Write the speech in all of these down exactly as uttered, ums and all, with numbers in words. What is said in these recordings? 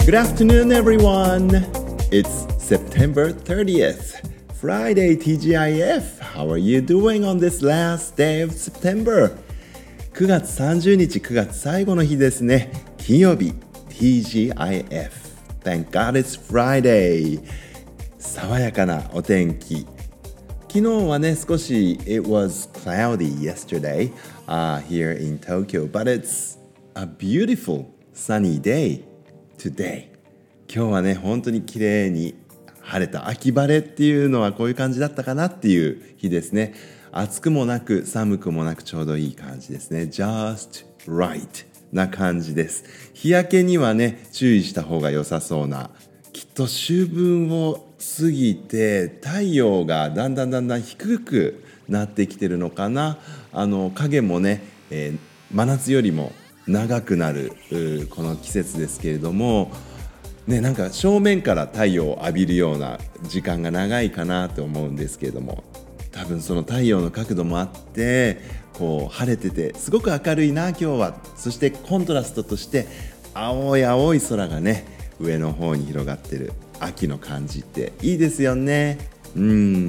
Good afternoon, everyone. It's September thirtieth, Friday ティージーアイエフ. How are you doing on this last day of September? くがつさんじゅうにち、くがつ最後の日ですね。金曜日 ティージーアイエフ. Thank God it's Friday. 爽やかなお天気。昨日はね、少し It was cloudy yesterday、uh, here in Tokyo, but it's a beautiful sunny day today. 今日はね、本当に綺麗に晴れた秋晴れっていうのはこういう感じだったかなっていう日ですね。暑くもなく寒くもなくちょうどいい感じですね。Just right な感じです。日焼けにはね、注意した方が良さそうな。きっと秋分を過ぎて太陽がだんだんだんだん低くなってきてるのかな。あの影もね、えー、真夏よりも長くなるこの季節ですけれども、ね、なんか正面から太陽を浴びるような時間が長いかなと思うんですけれども、多分その太陽の角度もあってこう晴れててすごく明るいな今日は。そしてコントラストとして青い青い空がね上の方に広がってる秋の感じっていいですよね。うん、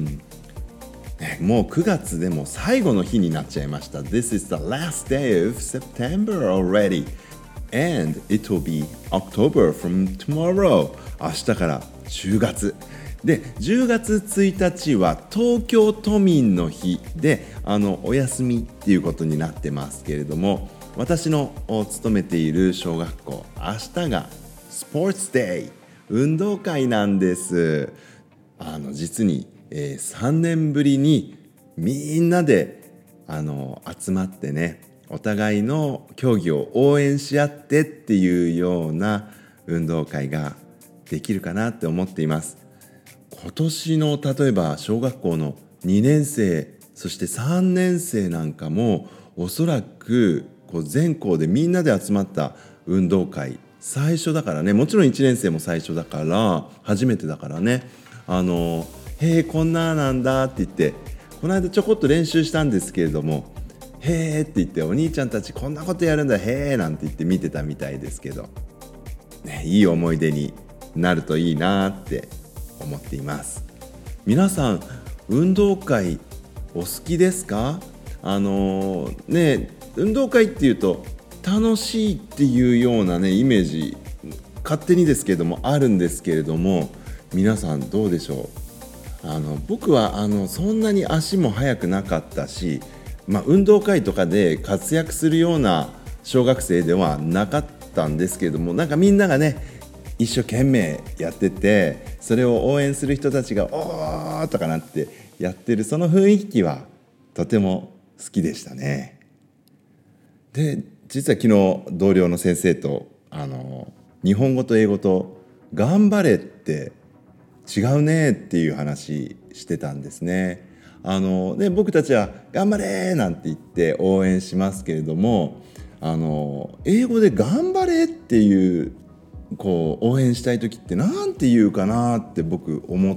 ね、もうくがつでも最後の日になっちゃいました。 This is the last day of September already and it will be October from tomorrow. 明日からじゅうがつで、じゅうがつついたちは東京都民の日で、あのお休みっていうことになってますけれども、私の勤めている小学校、明日がスポーツデイ、運動会なんです。あの実に、えー、さんねんぶりにみんなであの集まってね、お互いの競技を応援し合ってっていうような運動会ができるかなって思っています。今年の例えば小学校のにねんせい、そしてさんねんせいなんかもおそらくこう全校でみんなで集まった運動会最初だからね。もちろんいちねんせいも最初だから初めてだからね、あのへえこんななんだって言って、この間ちょこっと練習したんですけれども、へーって言ってお兄ちゃんたちこんなことやるんだへーなんて言って見てたみたいですけど、ね、いい思い出になるといいなって思っています。皆さん運動会お好きですか？あのー、ね運動会っていうと楽しいっていうようなねイメージ勝手にですけれどもあるんですけれども、皆さんどうでしょう？あの僕はあのそんなに足も速くなかったし、まあ、運動会とかで活躍するような小学生ではなかったんですけれども、なんかみんながね一生懸命やってて、それを応援する人たちがおーとかなってやってるその雰囲気はとても好きでしたね。で実は昨日同僚の先生とあの日本語と英語と頑張れって違うねっていう話してたんですね。あので僕たちは頑張れなんて言って応援しますけれども、あの英語で頑張れっていうこう応援したい時ってなんて言うかなって僕思って、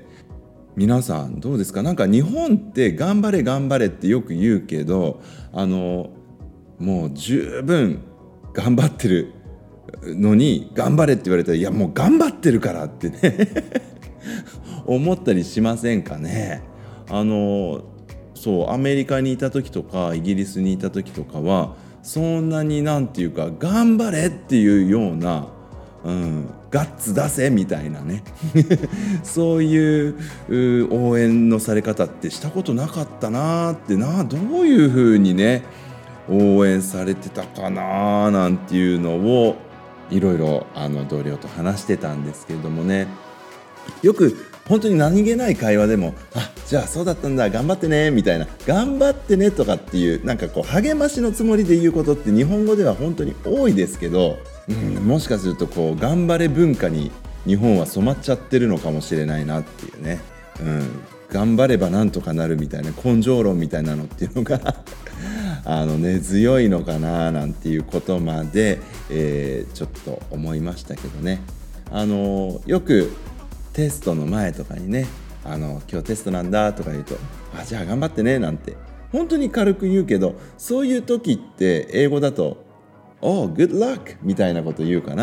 皆さんどうですか？なんか日本って頑張れ頑張れってよく言うけど、あのもう十分頑張ってるのに頑張れって言われたら、いやもう頑張ってるからってね思ったりしませんかね。あのそうアメリカにいた時とかイギリスにいた時とかはそんなになんていうか頑張れっていうような、うん、ガッツ出せみたいなねそういう応援のされ方ってしたことなかったなってな。どういうふうにね応援されてたかななんていうのをいろいろあの同僚と話してたんですけれどもね、よく本当に何気ない会話でも、あ、じゃあそうだったんだ頑張ってねみたいな、頑張ってねとかっていうなんかこう励ましのつもりで言うことって日本語では本当に多いですけど、うん、もしかするとこう頑張れ文化に日本は染まっちゃってるのかもしれないなっていうね、うん、頑張ればなんとかなるみたいな根性論みたいなのっていうのがあの根強いのかななんていうことまで、えー、ちょっと思いましたけどね。あのよくテストの前とかにね、あの今日テストなんだとか言うと、あ、じゃあ頑張ってねなんて本当に軽く言うけど、そういう時って英語だと Oh, good luck みたいなこと言うかな。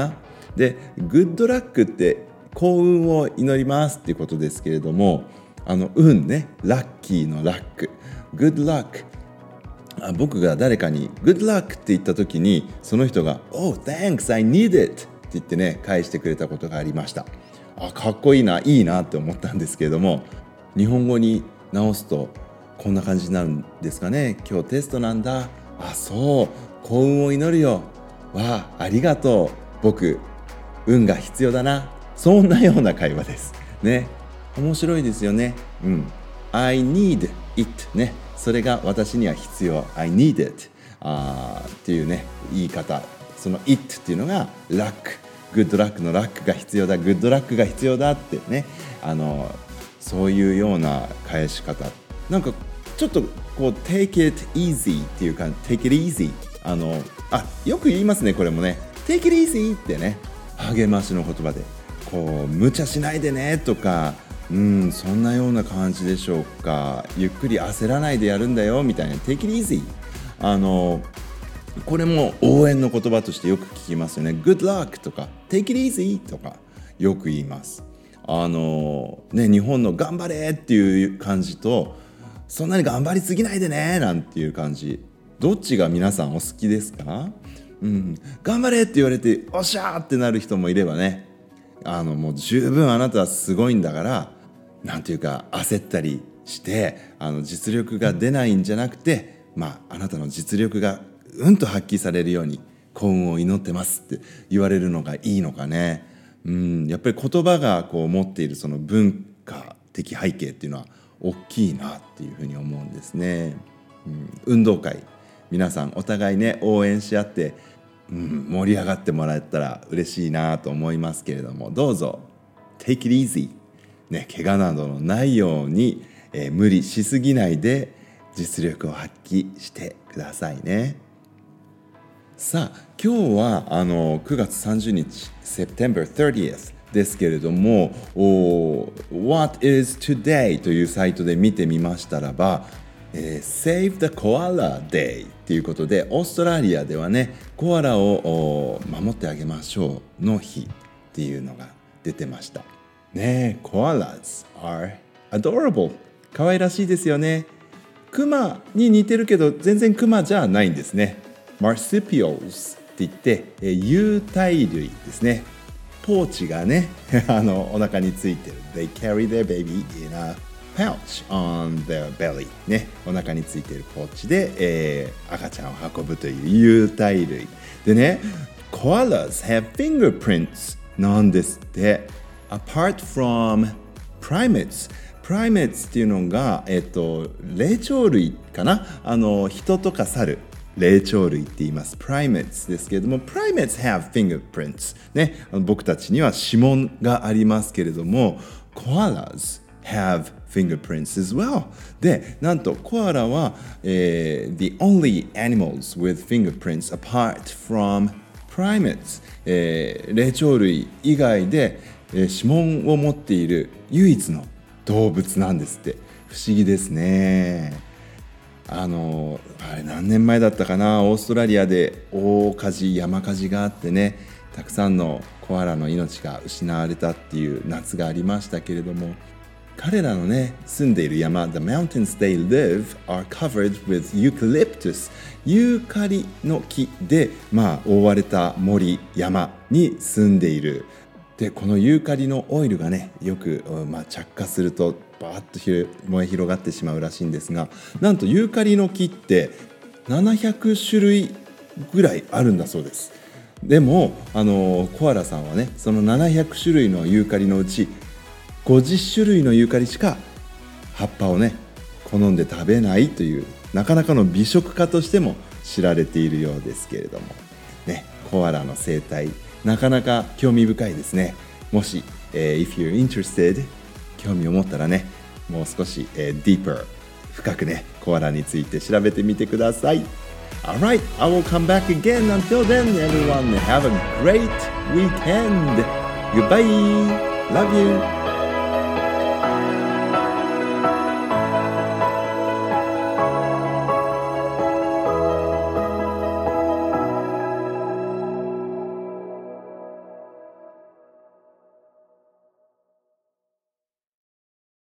で、グッドラックって幸運を祈りますっていうことですけれども、あの運ね、ラッキーのラック、グッドラック。あ僕が誰かにグッドラックって言った時に、その人が Oh, thanks, I need it って言ってね、返してくれたことがありました。あ、かっこいいな、いいなって思ったんですけれども、日本語に直すとこんな感じになるんですかね。今日テストなんだ。あ、そう、幸運を祈るよ。わあ、ありがとう。僕、運が必要だな。そんなような会話ですね。面白いですよね。うん。I need it ね。それが私には必要。I need it あっていうね、言い方。その it っていうのがラック。グッドラックのラックが必要だ。グッドラックが必要だってね。あの、そういうような返し方。なんかちょっとこう take it easy っていうか take it easy あのあよく言いますね。これもね take it easy ってね、励ましの言葉でこう無茶しないでねとか、うんそんなような感じでしょうか。ゆっくり焦らないでやるんだよみたいな take it easy。 あのこれも応援の言葉としてよく聞きますよね。 good luck とか take it easy とかよく言います。あのね、日本の頑張れっていう感じと、そんなに頑張りすぎないでねなんていう感じ、どっちが皆さんお好きですか？うん、頑張れって言われておっしゃーってなる人もいればね、あのもう十分あなたはすごいんだから、なんていうか焦ったりしてあの実力が出ないんじゃなくて、まああなたの実力がうんと発揮されるように幸運を祈ってますって言われるのがいいのかね。うん、やっぱり言葉がこう持っているその文化的背景っていうのは大きいなっていうふうに思うんですね。うん、運動会皆さんお互いね応援し合って、うん、盛り上がってもらえたら嬉しいなと思いますけれども、どうぞ take it easy ね、怪我などのないように、えー、無理しすぎないで実力を発揮してくださいね。さあ今日はあのくがつさんじゅうにち September thirtieth ですけれども、What is today というサイトで見てみましたらば、えー、Save the Koala Day ということで、オーストラリアではねコアラを守ってあげましょうの日っていうのが出てましたね。Koalas are adorable、 可愛らしいですよね。クマに似てるけど全然クマじゃないんですね。Marsupials って言って、えー、有袋類ですね。ポーチがねあのお腹についてる。 They carry their baby in a pouch on their belly ね、お腹についているポーチで、えー、赤ちゃんを運ぶという有袋類でね。 Koalas have fingerprints なんですって。 Apart from primates、primates っていうのが、えっと、霊長類かな。あの人とか猿、霊長類って言います。primates ですけれども、primates have fingerprints ね、僕たちには指紋がありますけれども、 koalas have fingerprints as well。 で、なんとコアラは、えー、the only animals with fingerprints apart from primates、えー、霊長類以外で、えー、指紋を持っている唯一の動物なんですって。不思議ですね。あのあれ何年前だったかな、オーストラリアで大火事、山火事があってね、たくさんのコアラの命が失われたっていう夏がありましたけれども、彼らのね住んでいる山 The mountains they live are covered with eucalyptus、 ユーカリの木で、まあ、覆われた森、山に住んでいる。でこのユーカリのオイルがねよく、まあ、着火するとバーッと燃え広がってしまうらしいんですが、なんとユーカリの木ってななひゃくしゅるいぐらいあるんだそうです。でもあのコアラさんはねそのななひゃくしゅるいのユーカリのうちごじゅっしゅるいのユーカリしか葉っぱをね好んで食べないという、なかなかの美食家としても知られているようですけれどもね、コアラの生態なかなか興味深いですね。もし、えー、if you're interested 興味を持ったらね、もう少し、えー、deeper 深くねコアラについて調べてみてください。 Alright, I will come back again. Until then, everyone, have a great weekend. Goodbye. Love you.